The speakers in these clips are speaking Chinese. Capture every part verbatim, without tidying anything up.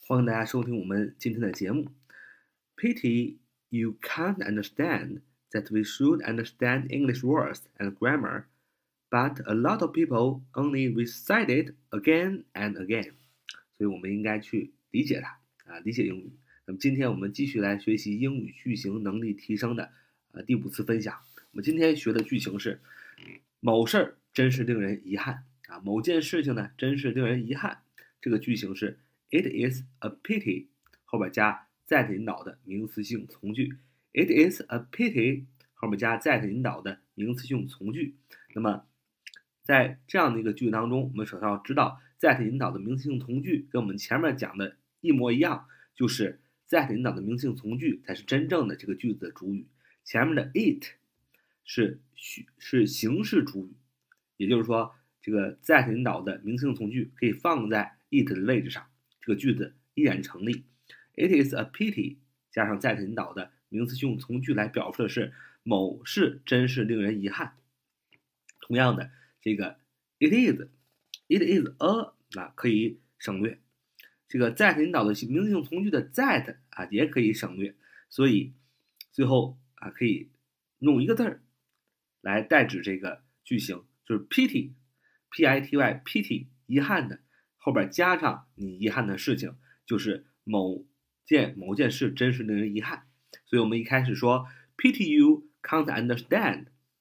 欢迎大家收听我们今天的节目。Pity you can't understand that we should understand English words and grammar, but a lot of people only recite it again and again. 所以我们应该去理解它啊，理解英语。那么今天我们继续来学习英语句型能力提升的呃第五次分享。我们今天学的句型是某事儿真是令人遗憾啊，某件事情呢真是令人遗憾。这个句型是 It is a pity 后边加 that 引导的名词性从句。It is a pity 后面加 that 引导的名词性从句。那么在这样的一个句当中，我们首先要知道 that 引导的名词性从句跟我们前面讲的一模一样，就是 that 引导的名词性从句才是真正的这个句子的主语，前面的 it 是是形式主语，也就是说这个 that 引导的名词性从句可以放在 it 的位置上，这个句子依然成立。It is a pity 加上 that 引导的名词性从句来表述的是某事真是令人遗憾。同样的，这个 it is it is a 啊可以省略，这个 that 引导的名词性从句的 that 啊也可以省略，所以最后啊可以用一个字儿来代指这个句型，就是 pity p i t y pity 遗憾的，后边加上你遗憾的事情，就是某件某件事真是令人遗憾。所以我们一开始说 pity you can't understand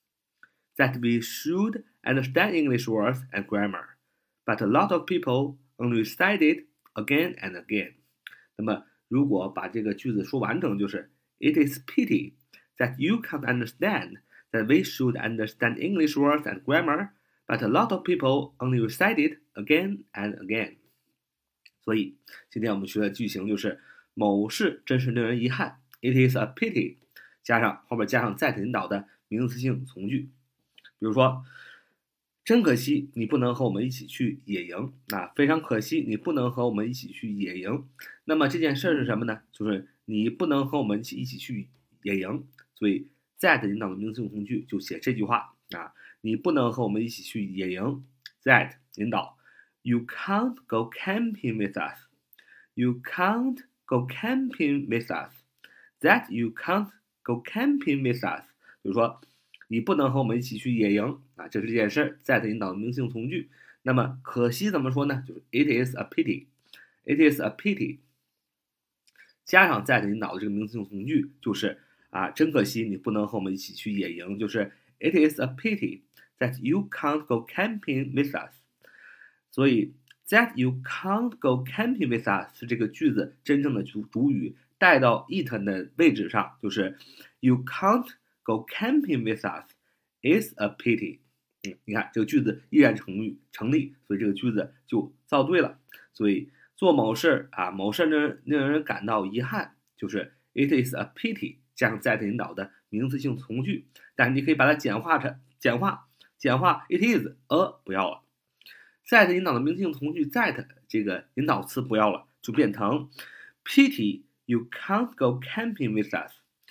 that we should understand English words and grammar, but a lot of people only recite it again and again. 那么如果把这个句子说完整，就是 It is pity that you can't understand that we should understand English words and grammar, but a lot of people only recite it again and again. 所以今天我们学的句型就是某事真是令人遗憾 It is a pity 加上后面加上 that 引导的名词性从句。比如说真可惜你不能和我们一起去野营啊，非常可惜你不能和我们一起去野营。那么这件事是什么呢？就是你不能和我们一起一起去野营，所以 that 引导的名词性从句就写这句话啊，你不能和我们一起去野营 that 引导 You can't go camping with us You can't go camping with us That you can't go camping with us 就是说你不能和我们一起去野营啊，这是这件事 that 引导的名词性从句。那么可惜怎么说呢？就是 It is a pity It is a pity 加上 that 引导的这个名词性从句，就是啊，真可惜你不能和我们一起去野营，就是 It is a pity that you can't go camping with us。 所以 that you can't go camping with us 是这个句子真正的主主语，带到 it 的位置上，就是 You can't go camping with us is a pity。嗯，你看这个句子依然成立成立，所以这个句子就造对了。所以做某事啊，某事令令人感到遗憾，就是 It is a pity 加上 that 引导的名词性从句，但是你可以把它简化成简化简化 It is a 不要了 that 引导的名词性从句 that 这个引导词不要了，就变成 Pity you can't go camping with us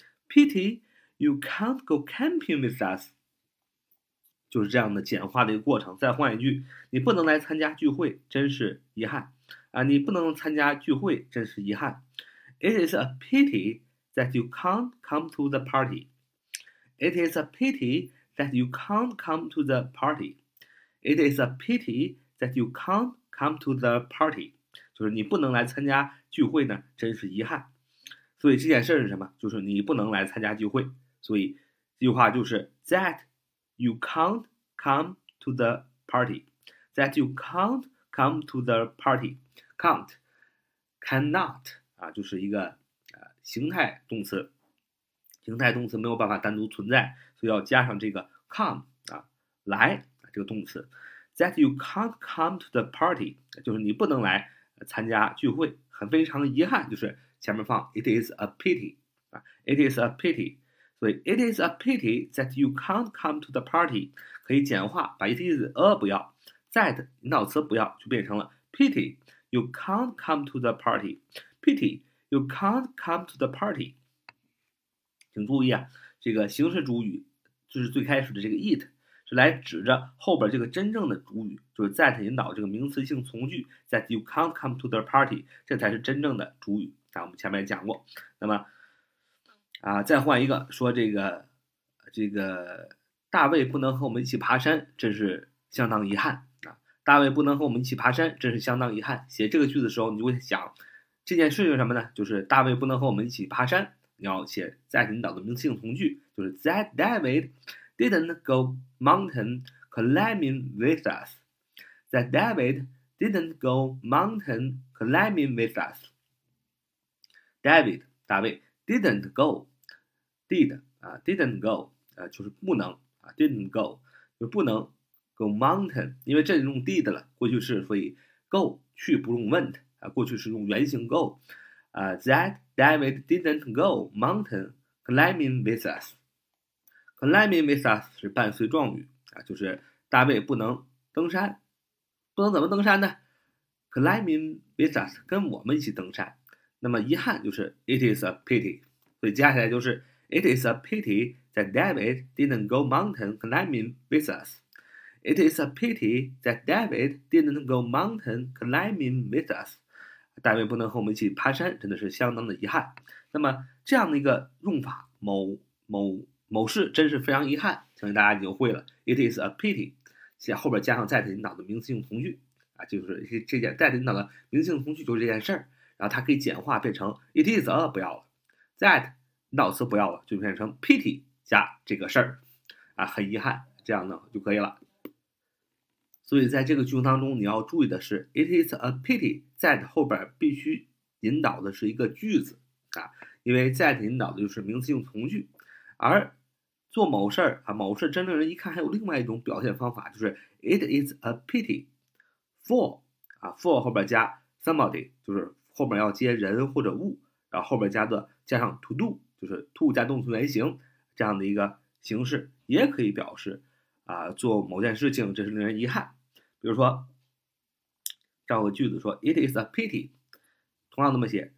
Pity you can't go camping with us， 就是这样的简化的一个过程。再换一句，你不能来参加聚会，真是遗憾啊！你不能参加聚会，真是遗憾。It is a pity that you can't come to the party. It is a pity that you can't come to the party. It is a pity that you can't come to the party. 就是你不能来参加聚会呢，真是遗憾。所以这件事是什么？就是你不能来参加聚会。所以这句话就是 that you can't come to the party that you can't come to the party can't cannot 啊，就是一个呃形态动词，形态动词没有办法单独存在，所以要加上这个 come 啊来这个动词 that you can't come to the party 就是你不能来参加聚会，很非常遗憾，就是前面放 it is a pity 啊 it is a pity，所以 it is a pity that you can't come to the party 可以简化，把 it is a 不要 that 引导词不要，就变成了 pity you can't come to the party pity you can't come to the party。 请注意啊，这个形式主语就是最开始的这个 it 是来指着后边这个真正的主语，就是 that 引导这个名词性从句 that you can't come to the party， 这才是真正的主语。啊，我们前面讲过。那么啊，再换一个，说这个这个大卫不能和我们一起爬山，真是相当遗憾啊！大卫不能和我们一起爬山，真是相当遗憾。写这个句子的时候，你就会想这件事是什么呢？就是大卫不能和我们一起爬山。你要写 that 引导的名词性从句，就是 that David didn't go mountain climbing with us. That David didn't go mountain climbing with us. David 大卫 didn't go did 啊 didn't go 啊就是不能啊 didn't go 就不能 go mountain， 因为这里用 did 了，过去式，所以 go 去不用 went 啊，过去式用原形 go 啊 that David didn't go mountain climbing with us。 climbing with us 是伴随状语啊，就是大卫不能登山，不能怎么登山呢？ climbing with us 跟我们一起登山。那么遗憾就是 it is a pity， 所以接下来就是 it is a pity that David didn't go mountain climbing with us. It is a pity that David didn't go mountain climbing with us. 大卫不能和我们一起爬山，真的是相当的遗憾。那么这样的一个用法，某某某事真是非常遗憾，相信大家已经会了。It is a pity， 在后边加上 that 引导的名词性从句啊，就是这件 that 引导的名词性从句就是这件事儿。然后它可以简化变成 it is a 不要了 ，that 引导词不要了，就变成 pity 加这个事儿啊，很遗憾，这样呢就可以了。所以在这个句型当中，你要注意的是 it is a pity that 后边必须引导的是一个句子啊，因为 that 引导的就是名词性从句，而做某事儿啊，某事真正人一看还有另外一种表现方法，就是 it is a pity for 啊 for 后边加 somebody， 就是后面要接人或者物，然后后边加的加上 to do， 就是 to 加动词原形这样的一个形式，也可以表示啊做某件事情这是令人遗憾。比如说这样个句子说 it is a pity， 同样那么写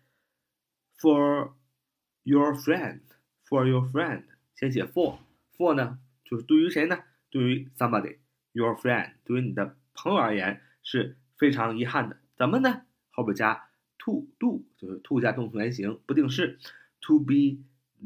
for your friend for your friend， 先写 for for 呢就是对于谁呢？对于 somebody your friend， 对于你的朋友而言是非常遗憾的。怎么呢？后边加to do 就是 to 加动词原形不定式 to be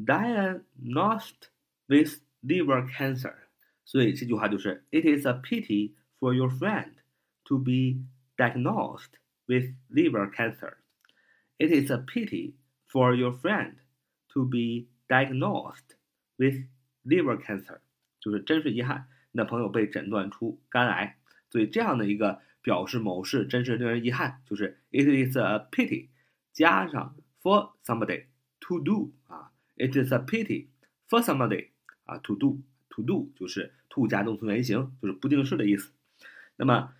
diagnosed with liver cancer， 所以这句话就是 it is a pity for your friend to be diagnosed with liver cancer. It is a pity for your friend to be diagnosed with liver cancer， 就是真是遗憾你的朋友被诊断出肝癌。所以这样的一个表示某事真是令人遗憾，就是 it is a pity 加上 for somebody to do 啊 it is a pity for somebody 啊 to do to do 就是 to 加动词原形，就是不定式的意思。那么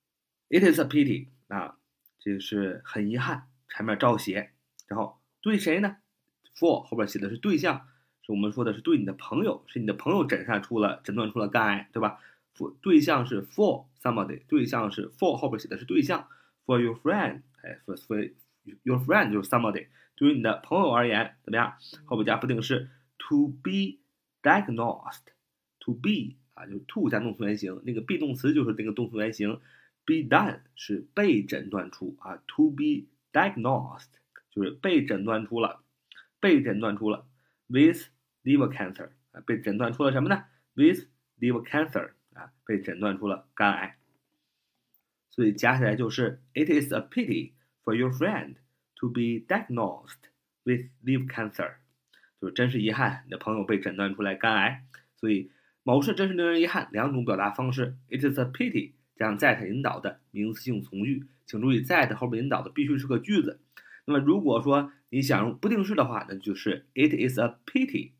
it is a pity 啊，这是很遗憾，前面照写，然后对谁呢？ for 后边写的是对象，是我们说的是对你的朋友，是你的朋友诊断出了诊断出了肝癌，对吧？对象是 for somebody， 对象是 for 后边写的是对象 for your friend， 哎 for, for your friend 就是 somebody， 对于你的朋友而言怎么样？后边加不定式 to be diagnosed to be 啊，就是 to 加动词原形，那个 be 动词就是那个动词原形 be done 是被诊断出啊 to be diagnosed 就是被诊断出了被诊断出了 with liver cancer 啊，被诊断出了什么呢？ with liver cancer啊，被诊断出了肝癌，所以加起来就是 it is a pity for your friend to be diagnosed with liver cancer， 就是真是遗憾你的朋友被诊断出来肝癌。所以某事真是令人遗憾两种表达方式 it is a pity 加上 that 引导的名词性从句，请注意 that 后面引导的必须是个句子。那么如果说你想用不定式的话，那就是 it is a pity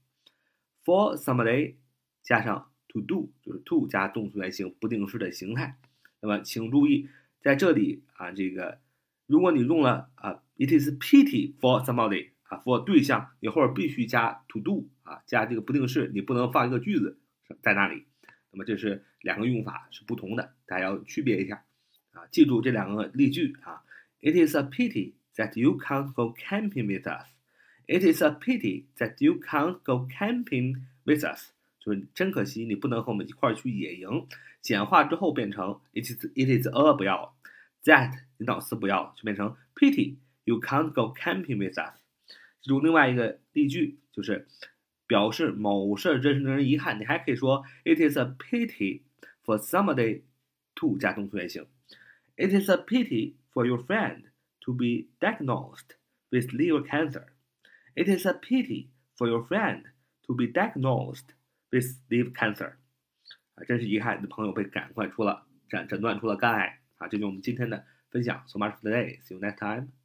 for somebody 加上to do 就是 to 加动词原形不定式的形态。那么请注意在这里啊，这个如果你用了啊 it is pity for somebody 啊 for 对象，你后边必须加 to do 啊，加这个不定式，你不能放一个句子在那里。那么这是两个用法是不同的，大家要区别一下啊，记住这两个例句啊 it is a pity that you can't go camping with us. It is a pity that you can't go camping with us. 就是真可惜你不能和我们一块儿去野营。简化之后变成 it is it is a 不要 that 你老四不要，就变成 pity you can't go camping with us。记住另外一个例句，就是表示某事真是令人遗憾，你还可以说 it is a pity for somebody to 加动词原形。It is a pity for your friend to be diagnosed with liver cancer. It is a pity for your friend to be diagnosed with liver cancer. 啊，真是遗憾，你的朋友被赶快出了诊诊断出了肝癌啊！这就是我们今天的分享。So much for today. See you next time.